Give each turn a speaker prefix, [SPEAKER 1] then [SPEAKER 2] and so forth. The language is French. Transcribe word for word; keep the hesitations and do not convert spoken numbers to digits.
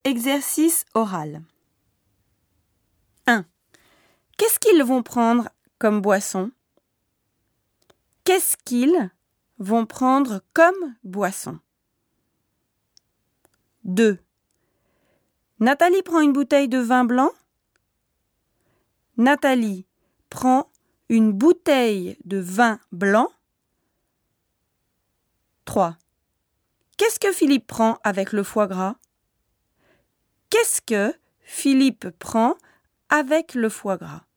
[SPEAKER 1] Exercice oral. un. Qu'est-ce qu'ils vont prendre comme boisson? Qu'est-ce qu'ils vont prendre comme boisson? deux. Nathalie prend une bouteille de vin blanc. Nathalie prend une bouteille de vin blanc. trois. Qu'est-ce que Philippe prend avec le foie gras? Qu'est-ce que Philippe prend avec le foie gras?